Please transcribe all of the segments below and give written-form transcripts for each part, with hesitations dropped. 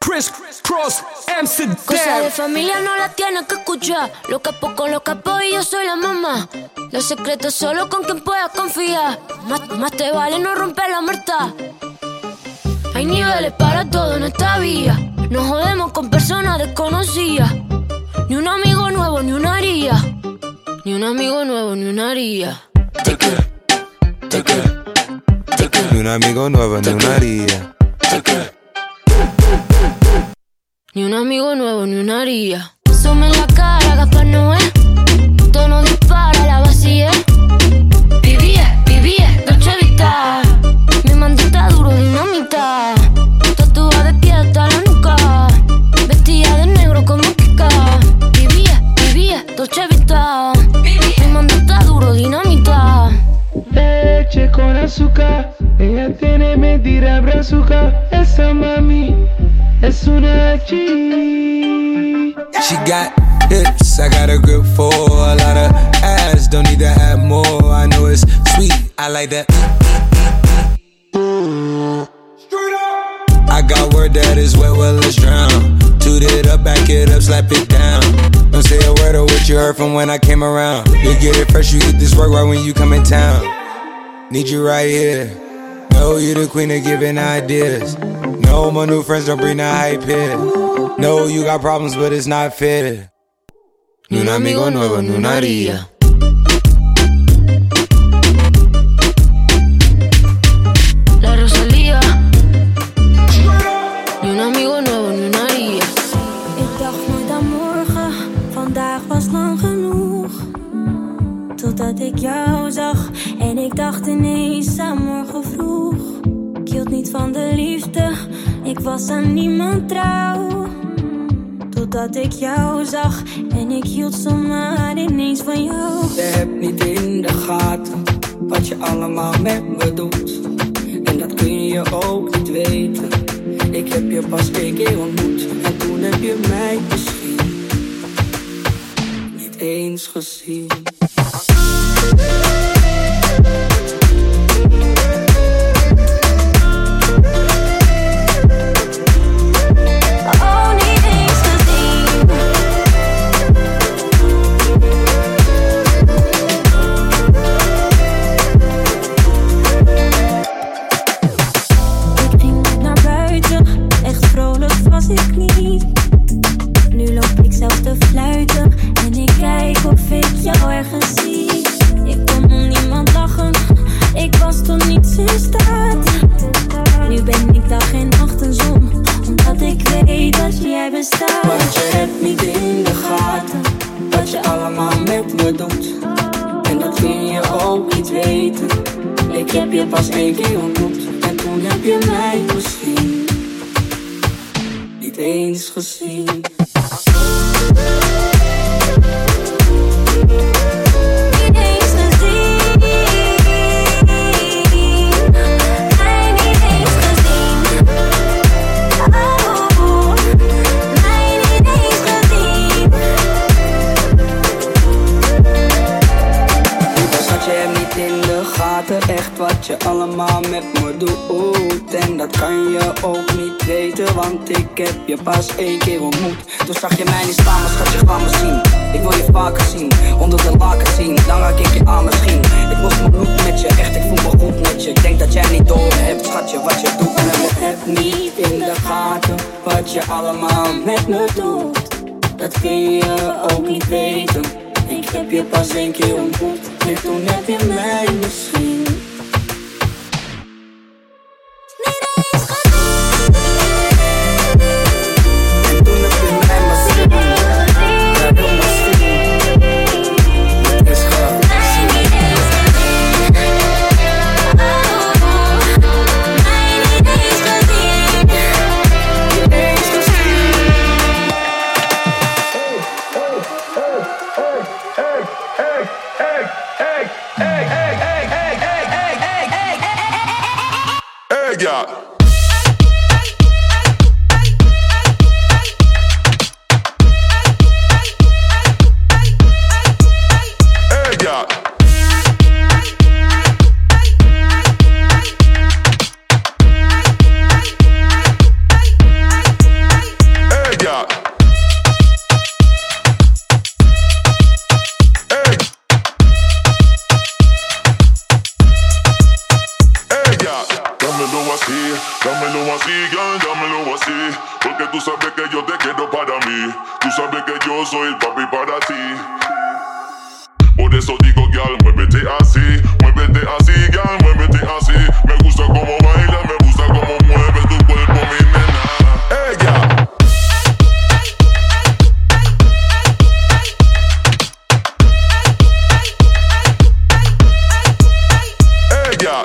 Chris Cross, Amsterdam. Cosa de familia no la tienes que escuchar. Lo capo con los capos y yo soy la mamá. Los secretos solo con quien puedas confiar. Más te vale no romper la muerta. Hay niveles para todo en esta vía. No jodemos con personas desconocidas. Ni un amigo nuevo, ni una haría. Ni un amigo nuevo, ni una haría. Ni un amigo nuevo, ni una haría. Ni un amigo nuevo, ni una haría. Zoom en la cara, Gaspar Noé. Tono dispara, la vacía. Vivía, Dolce Vita. Mi mandita duro, dinamita. Tatuada de pie hasta la nuca. Vestida de negro como Kika. Vivía, Dolce Vita. Mi mandita duro, dinamita. Leche con azúcar. Ella tiene mentira brazuca. Esa mami es una G. She got hips, I got a grip for a lot of ass, don't need to have more. I know it's sweet, I like that. I got word that is wet, well let's drown. Toot it up, back it up, slap it down. Don't say a word of what you heard from when I came around. You get it fresh, you get this work right when you come in town. Need you right here. No, you the queen of giving ideas. No, my new friends don't bring the hype here. No, you got problems, but it's not fair. Ni un amigo nuevo, ni una haría. La Rosalía. Ni un amigo nuevo, ni una haría. Ik dacht nooit aan morgen, vandaag was lang genoeg. Totdat ik jou zag en ik dacht ineens aan morgen vroeg. Ik hield niet van de liefde, ik was aan niemand trouw. Totdat ik jou zag en ik hield zomaar ineens van jou. Je hebt niet in de gaten wat je allemaal met me doet. En dat kun je ook niet weten. Ik heb je pas 1 keer ontmoet en toen heb je mij misschien niet eens gezien. Ik niet. Nu loop ik zelf te fluiten en ik kijk of ik jou ergens zie. Ik kon om niemand lachen, ik was toen niets in staat. Nu ben ik dag en nacht een zon, omdat ik weet dat jij bestaat. Want je hebt niet in de gaten wat je allemaal met me doet. En dat kun je ook niet weten. Ik heb je pas 1 keer ontmoet en toen heb je mij misschien niet eens gezien. Echt wat je allemaal met me doet. En dat kan je ook niet weten, want ik heb je pas 1 keer ontmoet. Toen zag je mij niet staan, maar schat je kwam me zien. Ik wil je vaker zien, onder de laken zien. Dan raak ik je aan misschien. Ik was mijn bloed met je, echt ik voel me goed met je. Ik denk dat jij niet door hebt, schatje, wat je doet. En je hebt niet in de gaten wat je allemaal met me doet. Dat kun je ook niet weten. Ik heb je pas 1 keer ontmoet en toen heb je mij misschien Hey, así. Dámelo así, girl, dámelo así. Porque tú sabes que yo te quiero para mí. Tú sabes que yo soy el papi para ti. Por eso digo, girl, muévete así, girl, muévete así. Me gusta como baila, me gusta como mueve tu cuerpo, mi nena. Ella. Ella.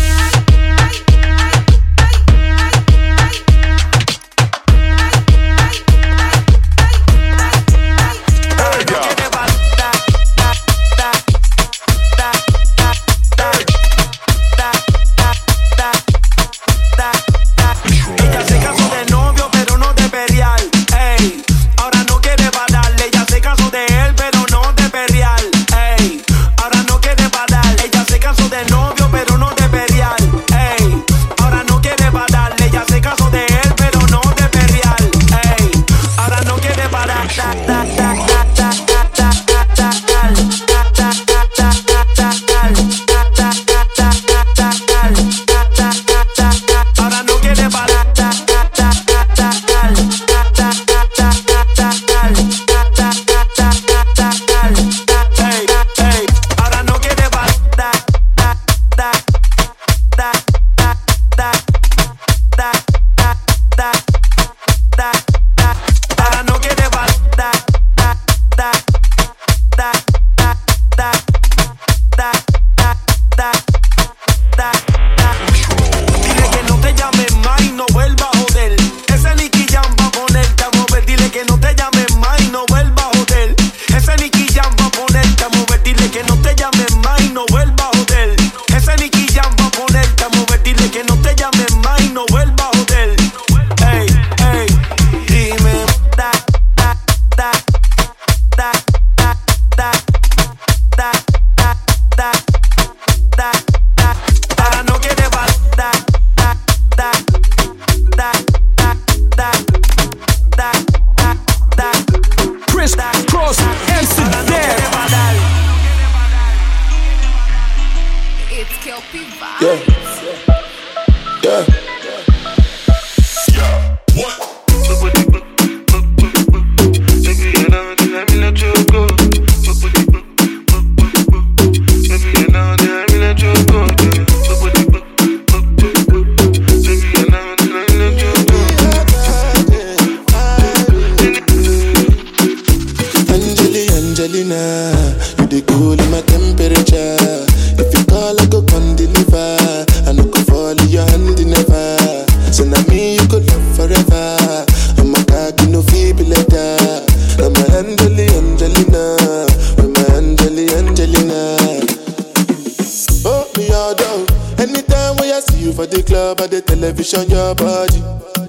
Your body,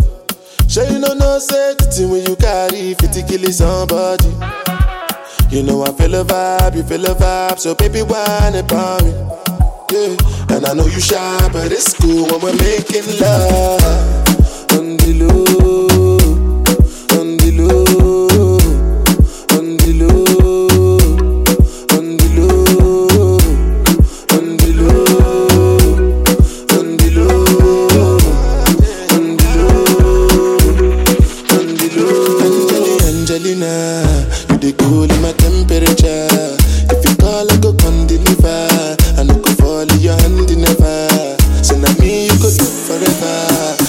sure you know no safety when you carry 50 kill somebody. You know I feel a vibe, you feel a vibe, so baby whine about me. Yeah, and I know you shy, but it's cool when we're making love on the low, on the low, on the low, on the low, on the low, on the low. Angelina, you the cool in my temperature. If you call, I go come deliver. I no go fall in your hand never. So now me you go live forever.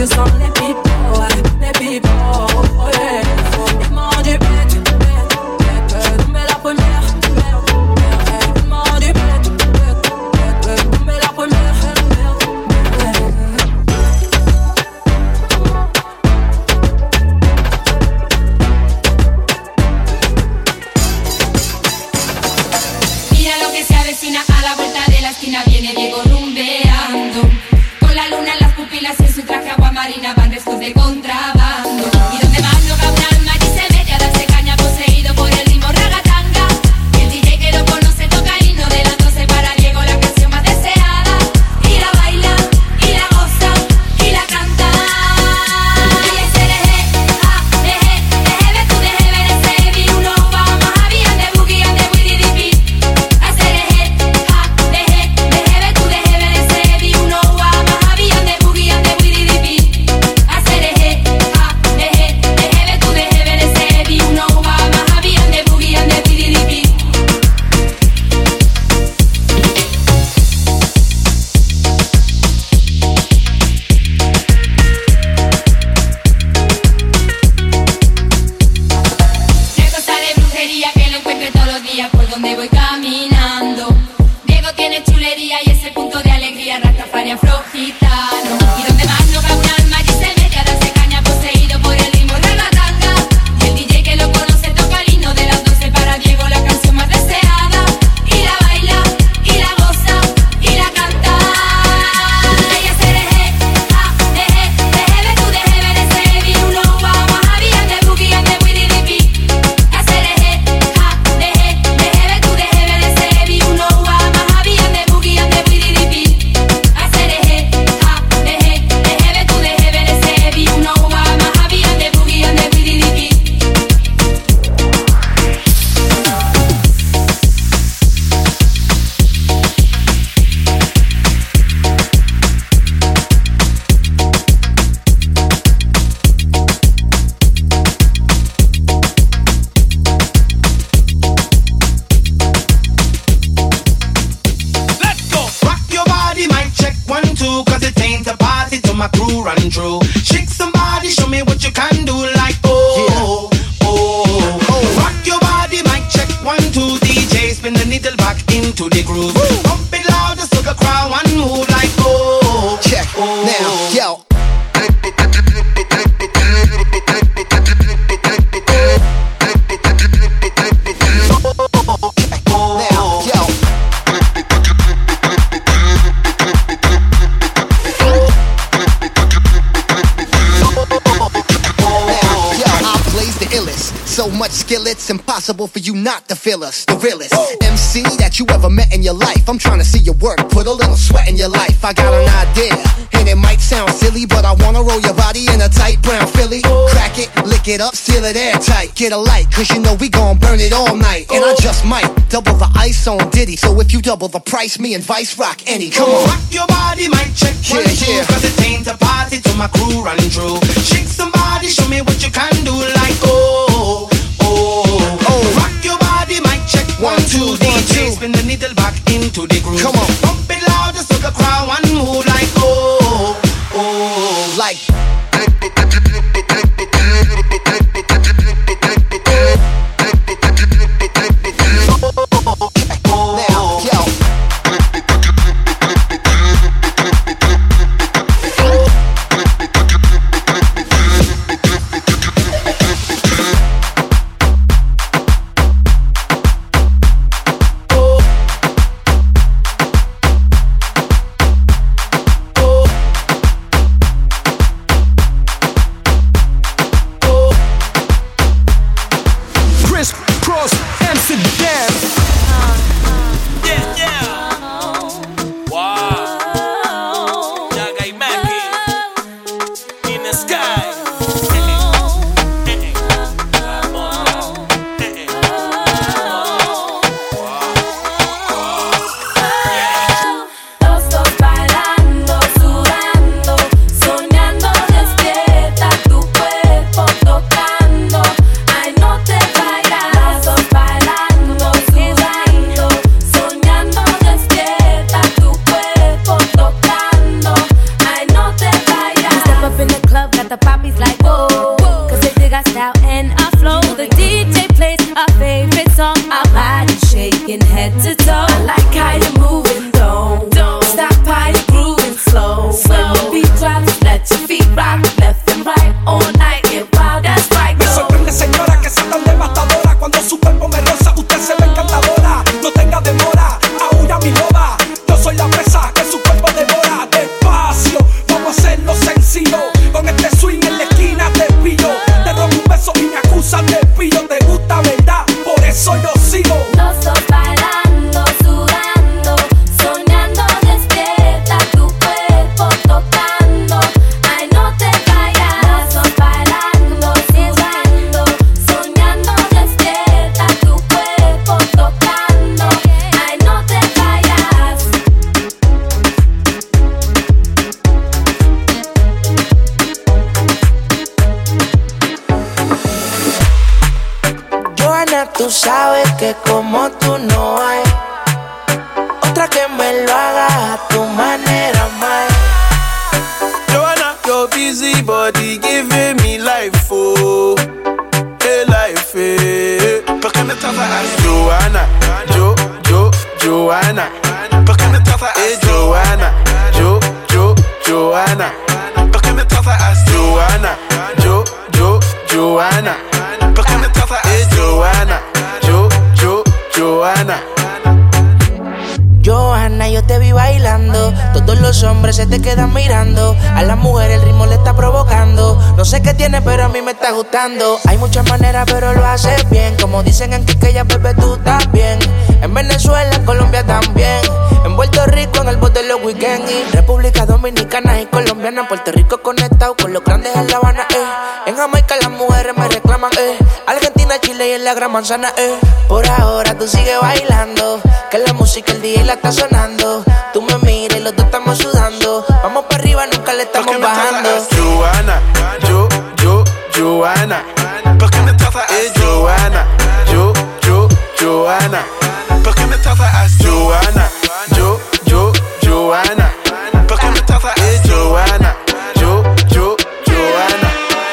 sens les pipos, ouais, les pipos, ouais. Ils m'ont dit bête, tomber la première. Ils m'ont dit bête, tomber la première. A la vuelta de la esquina viene Diego rumbeando, con la luna en las pupilas y en su traje agua marina van restos de contrabando. Y donde más no cabe un alma y se mete a darse caña poseído por el ritmo ragatanga. Y el DJ que lo conoce toca el himno de las 12 para Diego, la canción más deseada. Y la baila, y la goza, y la canta. Y ese deje, deje, tú deje ver ese vi uno va más había de boogie and de widdy dippy. Por donde voy caminando, Diego tiene chulería y ese punto de alegría, Rastafari afrogitano. Y donde más no cabe un alma y se mete a darse caña poseído por el ritmo ragatanga. Y el DJ que lo conoce toca el himno de las 12 para Diego, la canción más deseada. Y la baila, y la goza, y la canta. Y ese deje, deje, tú deje ver ese vi uno va más había de boogie and de widdy dippy. My crew run through. Shake somebody, show me what you can do. Like oh, yeah. oh. Rock your body, mic check 1, 2. DJ spin the needle back into the groove. Woo. Pump it louder so the crowd one move. Like oh, check oh. Now, yo. So much skill, it's impossible for you not to feel us. The realest MC that you ever met in your life. I'm trying to see your work, put a little sweat in your life. I got an idea, and it might sound silly, but I wanna roll your body in a tight brown Philly. Crack it, lick it up, seal it airtight. Get a light, cause you know we gon' burn it all night. And I just might double the ice on Diddy. So if you double the price, me and Vice rock any. Come on. Rock your body, mic check 1, 2. Cause it ain't a party till my crew run through. Shake somebody, show me what you can do. Like oh. Rock your body, mic check 1, 2. DJ spin the needle back into the groove. Come on, pump it louder so the crowd one move. Like oh, like. Now, yo. got the poppies like whoa. Cause they dig our style and our flow. The DJ plays our favorite song. Our body shaking head to toe. I like how you're moving, don't stop how you're grooving slow. When the beat drops, let your feet rock left and right all night. Get wild, that's right. Me sorprende, señora, que sea tan devastadora. Cuando su cuerpo me roza, usted se ve encantadora. No tenga demora, aúlla mi loba. Yo soy la presa que su cuerpo devora. Despacio, vamos a hacerlo sencillo. Con este swing en la esquina te pillo. Te robo un beso y me acusan de pillo. Te gusta, ¿verdad? Por eso yo sigo. No estoy bailando, sudando, soñando, despierta tu cuerpo tocando. Ay, no te vayas. No estoy bailando, sudando, soñando, despierta tu cuerpo tocando. Ay, no te vayas. Johanna, tú sabes que como tú no hay otra que me lo haga a tu manera, más. Johanna, your busy body giving me life, oh, hey life, eh. ¿Por qué me trata así? Johanna, Johanna. ¿Por qué me trata así? Johanna, Johanna. ¿Por qué me trata así? Johanna, Johanna. ¿Por qué me trata así? Johanna, Johanna. Johanna, yo te vi bailando. Todos los hombres se te quedan mirando. A la mujer el ritmo le está provocando. No sé qué tiene, pero a mí me está gustando. Hay muchas maneras, pero lo haces bien. Como dicen en Quiqueya, bebé, tú también. En Venezuela, en Colombia también. En Puerto Rico, en el bote de los weekends. Y República Dominicana y Colombiana. En Puerto Rico conectado con los grandes en La Habana, En Jamaica las mujeres me reclaman, Argentina, Chile y en la Gran Manzana, Por ahora tú sigues bailando. Que la música el DJ la está sonando. Tú me miras y los dos estamos sudando. Vamos para arriba, nunca le estamos bajando. Johanna, Johanna. ¿Por qué me trata así? Johanna, Johanna. ¿Por qué me trata así? Johanna, Johanna. ¿Por qué me trata así? Johanna, Johanna.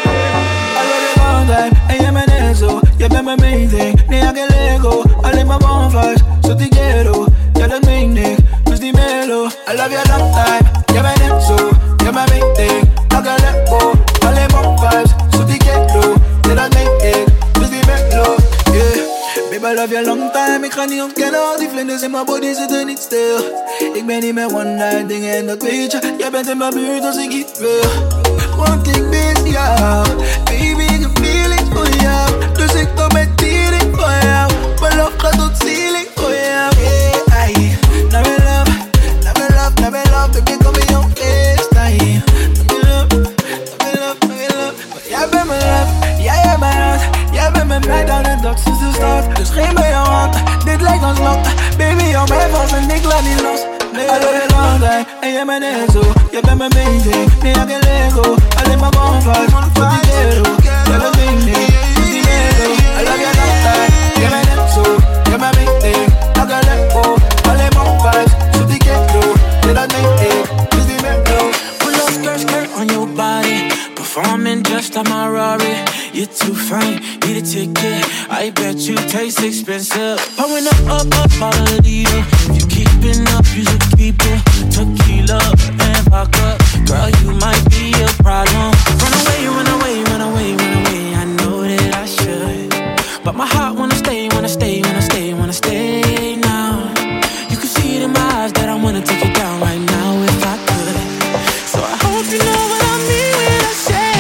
All time, ella me nezo, ya me amazing. Ni a que lego, alle my bonfires, so te quiero, ya las meaning, pues dímelo. I love you a long time, ya me nezo, ya me amazing. No que lego, alle my vibes, so te quiero, ya las meaning, pues dímelo. Yeah, baby, I love you a long time. Ik ga niet ontkennen, al die vlinders in mijn body zitten niet stil. Ik ben niet meer one night ding en dat weet je. Jij bent in mijn buurt als ik hier wil. Want ik mis jou, baby, ik heb feelings voor jou. Dus ik kom met tiering voor jou. Mijn love gaat tot ceiling voor jou. Yeah, ay, naar mijn love, naar mijn love, naar mijn love. Baby, kom in jouw FaceTime. Naar mijn love, naar mijn love, naar mijn love. Maar jij bent mijn love, jij hebt mijn hart. Jij bent met mij dan en dat sinds de start. Dus geef me jouw hand, dit lijkt ons lot. Baby, hou mij vast en ik laat niet los. I love you long time, en jij bent net zo. Jij bent mijn amazing, nee, ik heb Lego. Alleen maar bonfires, wat die quiero. Jij bent meaning, dus die Lego. I love you long time, jij bent net zo. Jij bent meaning, ik heb Lego. Alleen maar bonfires, wat die quiero. Jij bent meaning, dus die Lego. Pull up skirt on your body. Performing just on my Rari. You're too fine, need a ticket. I bet you taste expensive. Pouring up, all the leader. If you keeping up, you should keep it. Tequila and vodka. Girl, you might be a problem. Run away, run away, run away, run away. I know that I should, but my heart wanna stay, wanna stay, wanna stay, wanna stay now. You can see it in my eyes that I wanna take it down right now if I could. So I hope you know what I mean when I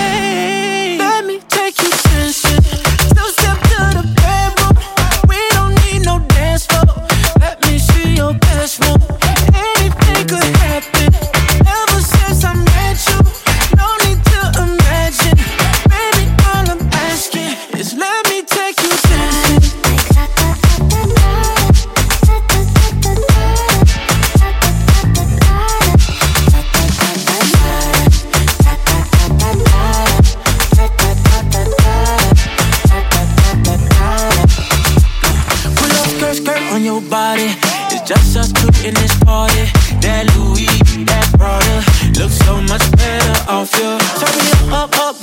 say, let me take you dancing. Two step to the bedroom. We don't need no dance floor. Let me see your best move. Anything could happen. Ever since I met you, no need to imagine. Baby, all I'm asking is let me take you dancing. On your body, it's just us two in this party. That Louis, that Prada, looks so much better off you. Turn me up,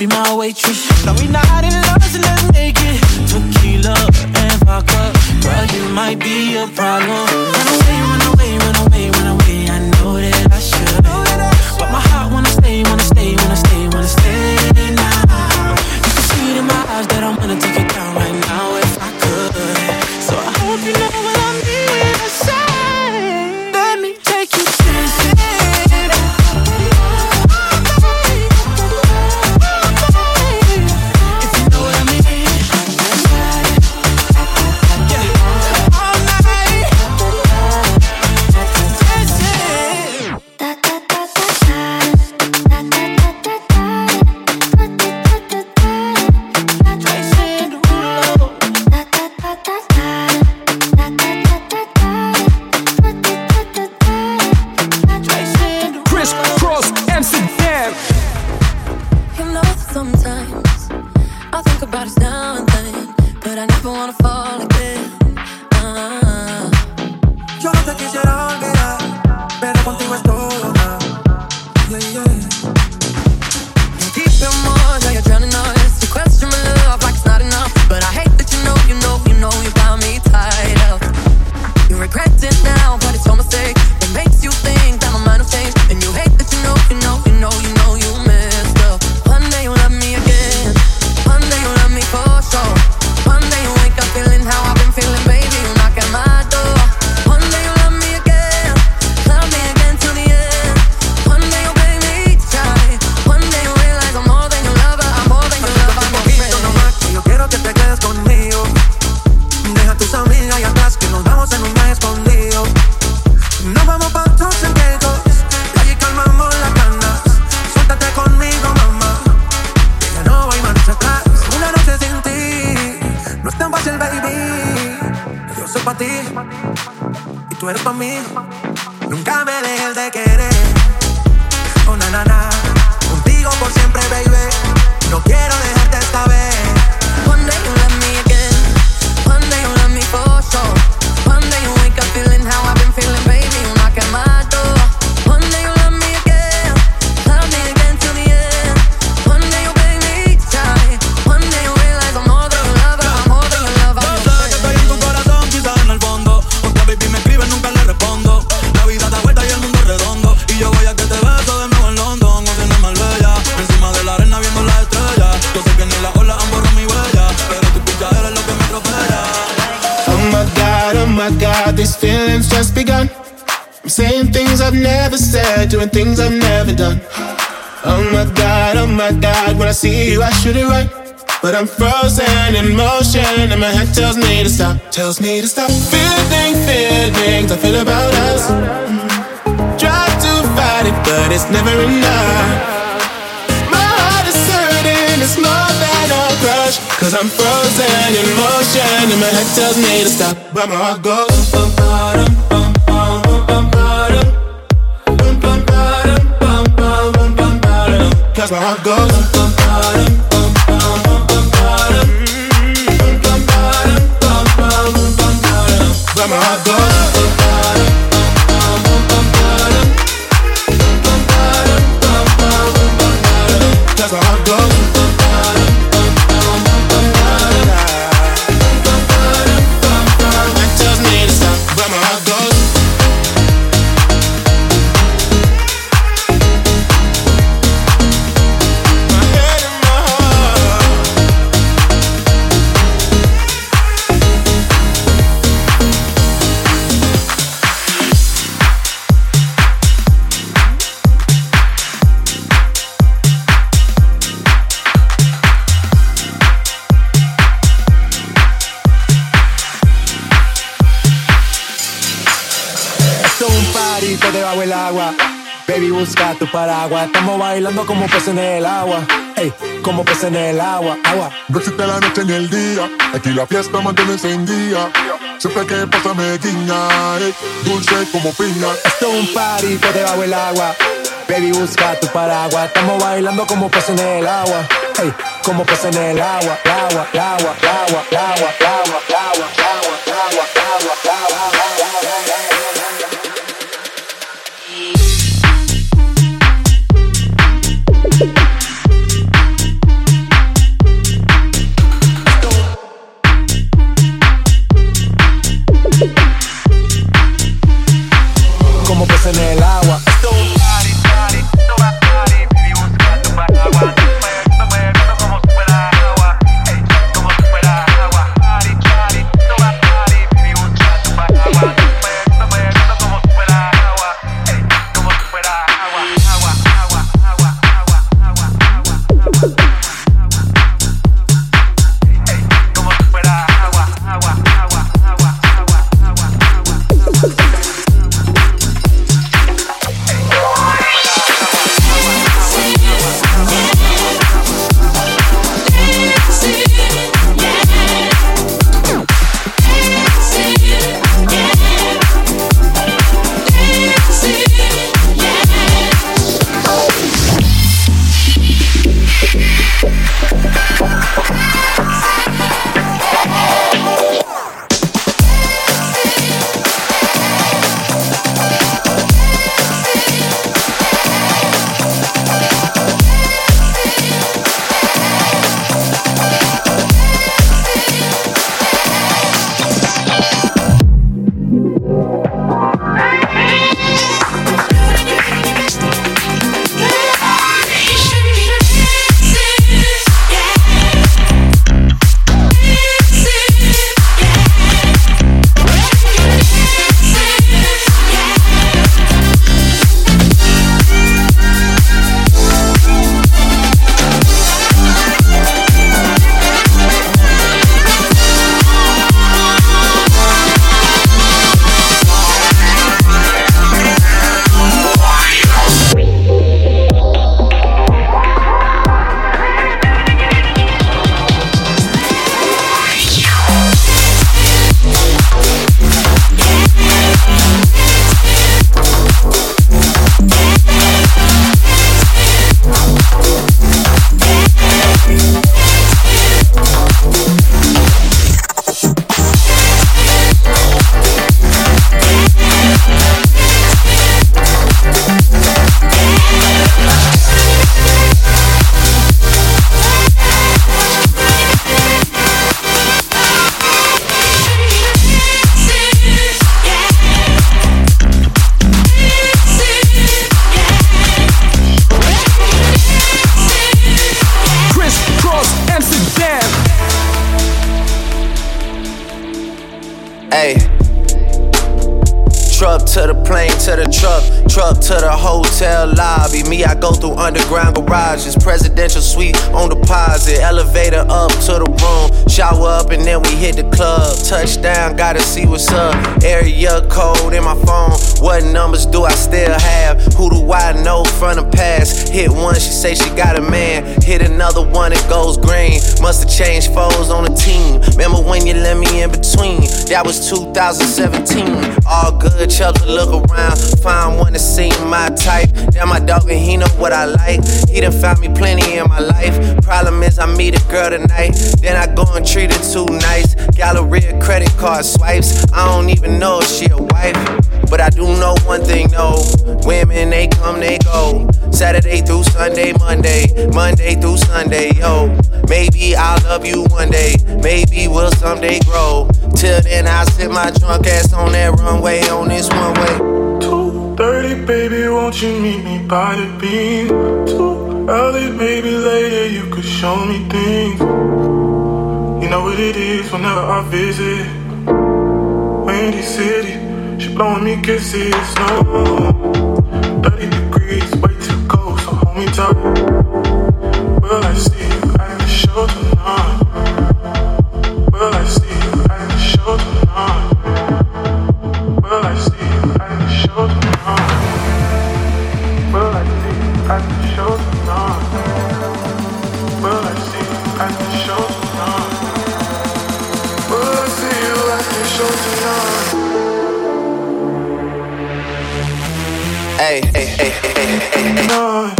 waitress. Now we not in love, so let's make it tequila and vodka. Girl, you might be a problem. Run away, run away, run away, run away. I know that I should, but my heart wanna stay, wanna stay, wanna stay, wanna stay now. You can see it in my eyes that I wanna take it down right now if I could. So I hope you know what I mean when I say, let me take you dancing. Doing things I've never done. Oh my God, when I see you I shoot it right, but I'm frozen in motion and my head tells me to stop, feelings I feel about us. Try to fight it but it's never enough. My heart is hurting, it's more than a crush, cause I'm frozen in motion and my head tells me to stop, but my heart goes bum, bum, bum, bum, bum, bum. Cause my heart goes bum, bum, bum, bum, bum, bum, but my heart goes bum, bum, bum, bum, cause my heart goes that tells me to stop, but my heart goes. Debajo el agua, baby busca tu paraguas. Estamos bailando como peces en el agua, ey, como peces en el agua, agua. No existe la noche ni el día, aquí la fiesta mantiene encendida. Siempre que pasa me guiña, ey, dulce como piña. Esto es un party por debajo el agua, baby busca tu paraguas. Estamos bailando como peces en el agua, ey, como peces en el agua, agua, agua, agua, agua, agua, agua, agua, agua, agua, agua. Hey. Truck to the plane, to the truck to the hotel lobby. Me, I go through underground garages, presidential suite on deposit, elevator up to the room, shower up and then we hit the club. Touchdown, gotta see what's up. Area code in my phone, what numbers do I still have? Who do I know from the past? Hit one, she say she got a man. Hit another one, it goes green. Must've changed foes on the team. Remember when you let me in between? That was 2017. All good, Chubb to look around, find one that seem my type. Damn, my dog and he know what I like. He done found me plenty in my life. Problem is I meet a girl tonight, then I go and treat her too nice. Galleria credit card swipes, I don't even know if she a wife. But I do know one thing though, women they come, they go. Saturday through Sunday, Monday through Sunday, yo. Maybe I'll love you one day, maybe we'll someday grow. Till then I'll sit my drunk ass on that runway, on this one way. 2:30, baby, won't you meet me by the beam? Too early, maybe later you could show me things. You know what it is whenever I visit Windy City, she blowing me kisses, no 30 degrees, way too cold, so hold me tight. Will I see you at the show tonight? Will I see you at the show tonight? Will I see you at the show tonight? Will I see you at the show tonight? Will I see you at the show tonight? Will I see you at the show tonight? Hey, hey, hey, hey, hey, hey.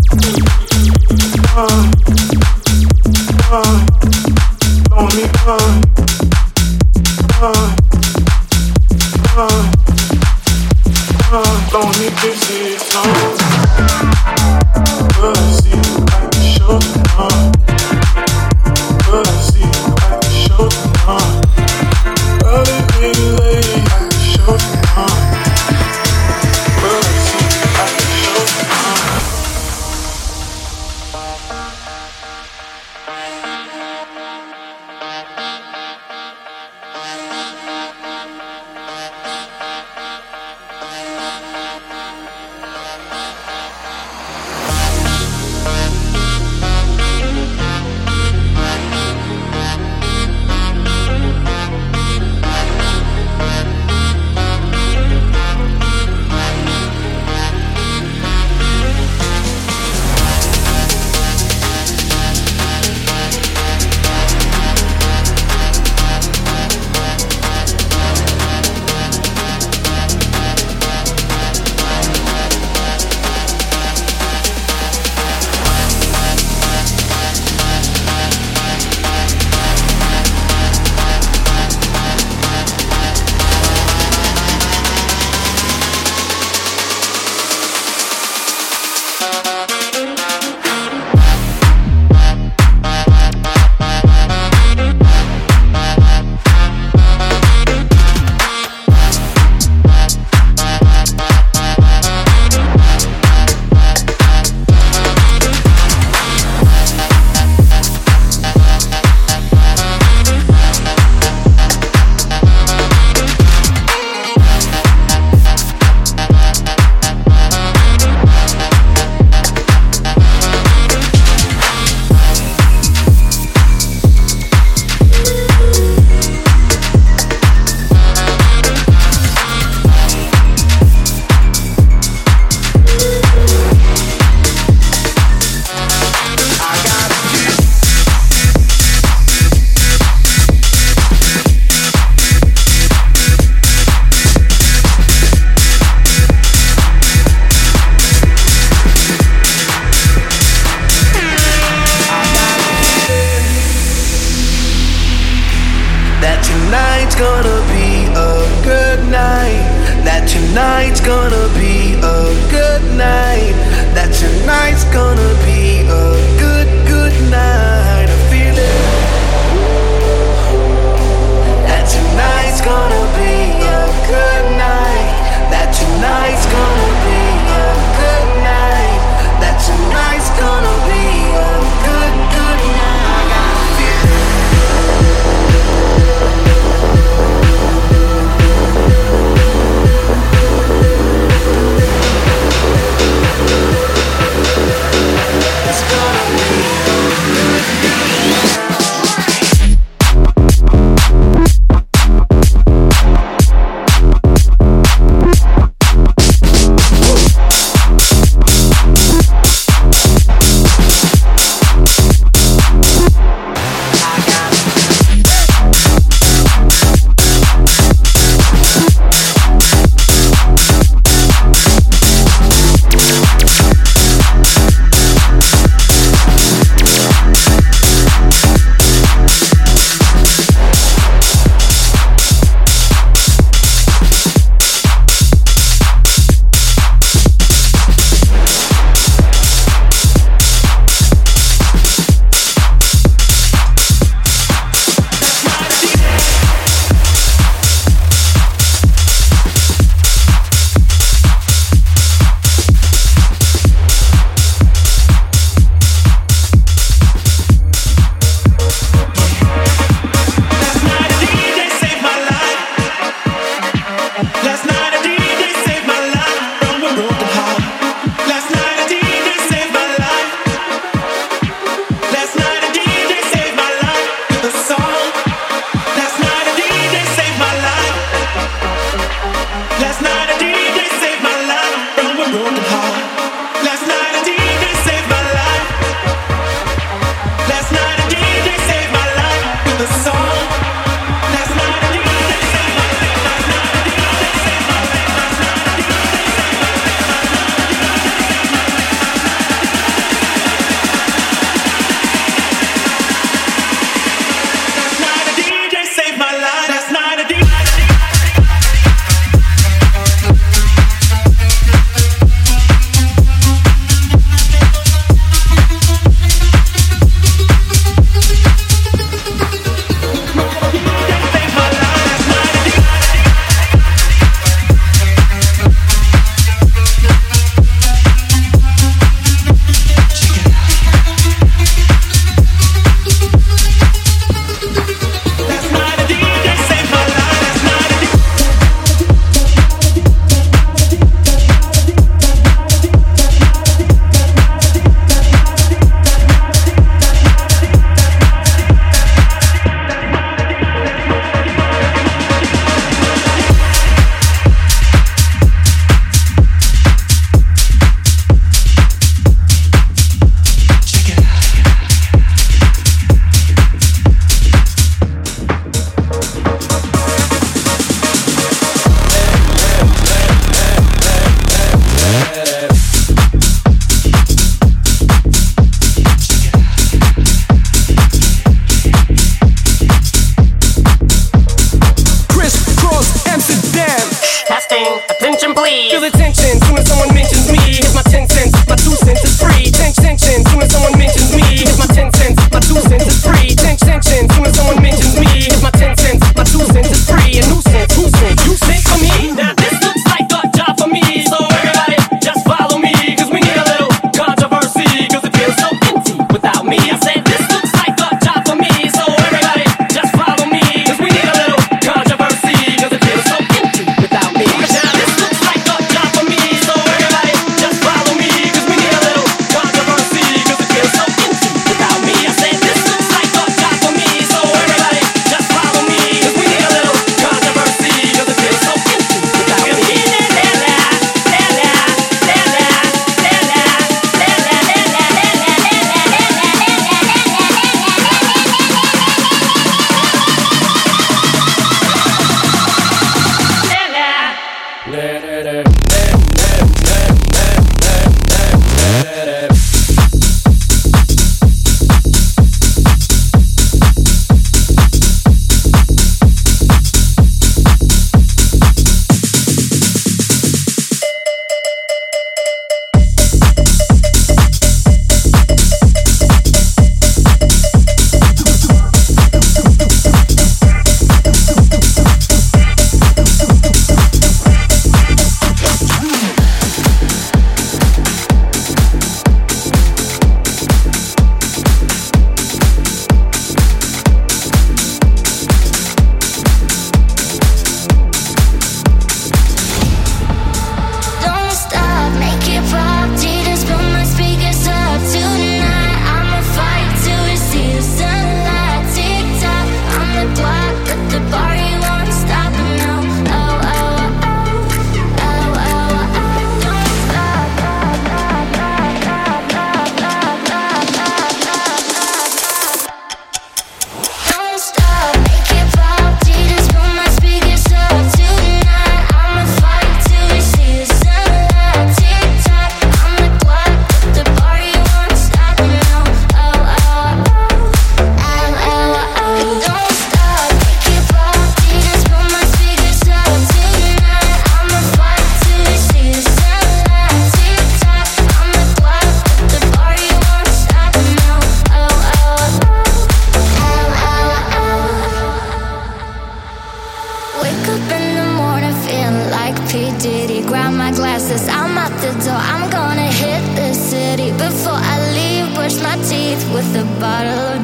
Don't need this is on. Will I see you at the show tonight? Will I see you at the show tonight? Early, baby, lady at the show tonight. Will I see you at the show tonight? tonight's gonna be a good night. That tonight's gonna be a good, good night. I feel it. That tonight's gonna be a good night. That tonight's gonna be a good night. That tonight's gonna be a good, good night. I feel it.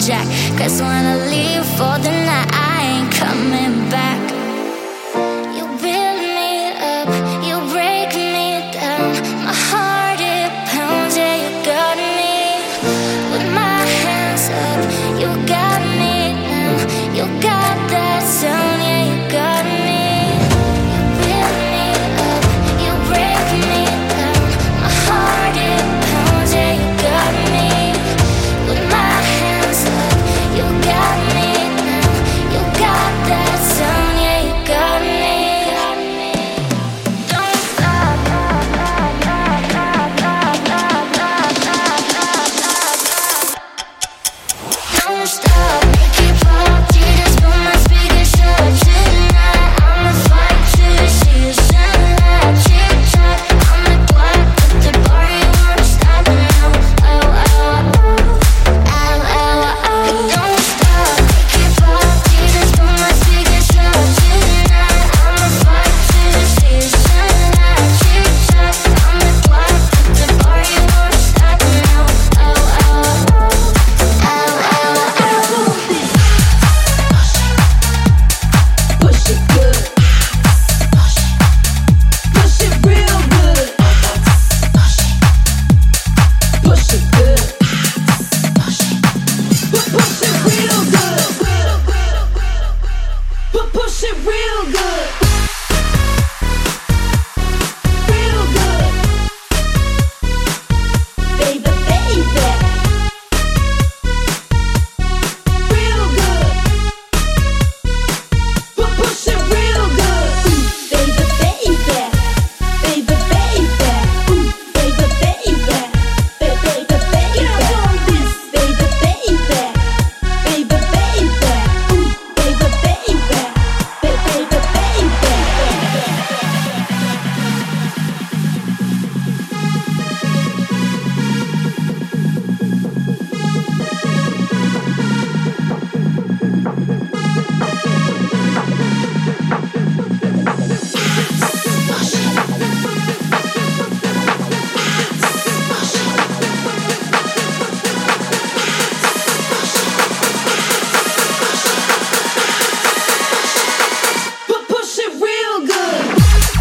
jack. Cause when I leave for the night, I ain't coming back. You build me up, you break me down. My heart, it pounds, yeah, you got me. With my hands up, you got me now. You got that sound, yeah, you got me. You build me up, you break me down. My heart, it pounds, yeah, you got me. With my hands up, you got me now. You got that sound, yeah, you got me. Don't stop. Don't stop. Keep up, Jesus, put my speakers shut tonight. I'ma fight till you see the sunlight. Tick-tock, I'm the clock at the bar, you won't stop now. Oh, oh, oh. Ow, ow, ow. Don't stop. Keep up, Jesus, put my speakers shut tonight. I'ma fight till you see the sunlight. Tick-tock, I'm the clock at the bar, you won't stop now. Oh, oh, oh. Ow, ow, ow. Push it good. Push it real good. Push it good. Push it real good. Push it real good. Real good. Baby, baby. Real good. Push it real good. Baby, baby. Baby, baby. Baby, baby. Baby, baby. Get up on this. Baby, baby. Baby, baby. Baby, baby. Baby, push it real good.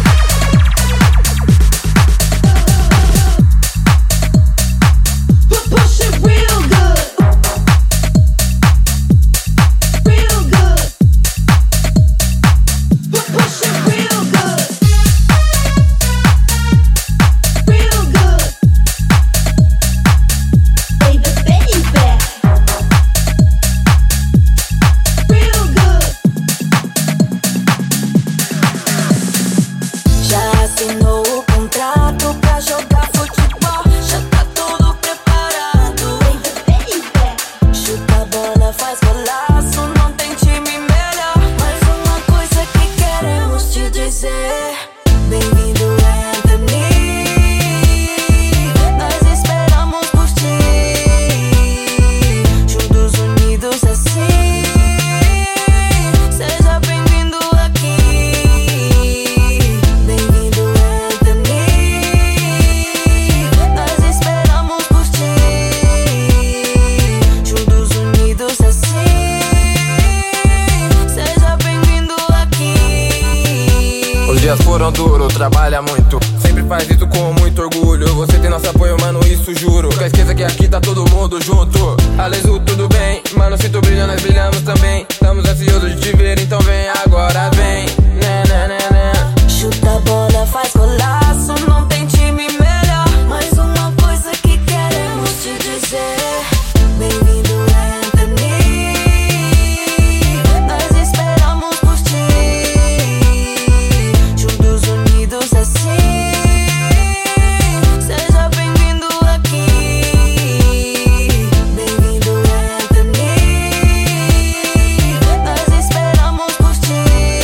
Push it real good. Real good. Push it real good. Real good. Baby, baby. Real good. Já assinou o contrato pra jogar futebol? Já tá tudo preparado. Baby, baby. Chuta a bola, faz golaço, não tem time melhor. Mas uma coisa que queremos te dizer: bem-vindo, Anthony. Nós esperamos por ti, juntos unidos assim. Seja bem-vindo aqui. Bem-vindo, Anthony. Nós esperamos por ti, juntos unidos assim. Seja bem-vindo aqui. Os dias foram duros, trabalha muito. Sempre faz isso com muito orgulho. Você tem nosso apoio, mano, isso juro. Nunca esqueça que aqui tá todo mundo junto. Alesu, tudo bem? Mano, se tu brilha, nós brilhamos também. Estamos ansiosos de te ver, então vem agora, vem. Né, né, né, né. Chuta a bola, faz golaço, não tem time melhor. Mas uma coisa que queremos te dizer: bem-vindo, Anthony. Nós esperamos por ti, juntos unidos assim. Seja bem-vindo aqui. Bem-vindo, Anthony. Nós esperamos por ti,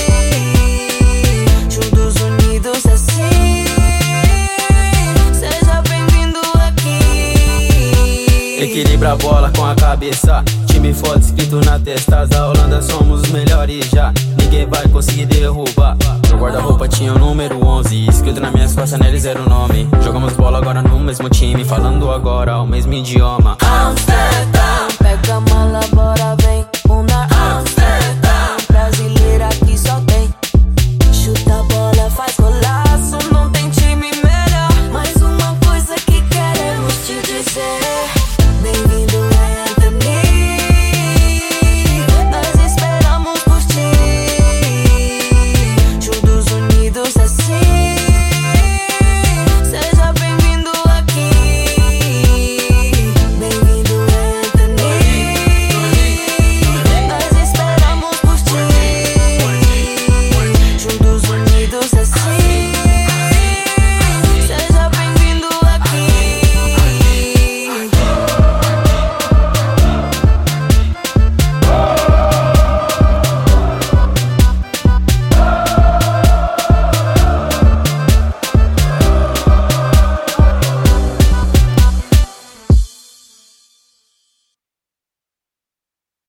juntos unidos assim. Seja bem-vindo aqui. Equilibra a bola com a cabeça. Time forte escrito na testa. Da Holanda somos os melhores já. Ninguém vai conseguir derrubar. No guarda-roupa tinha o número 11. Escrito na minhas costas, neles era o nome. Jogamos bola agora no mesmo time. Falando agora o mesmo idioma. Amsterdã.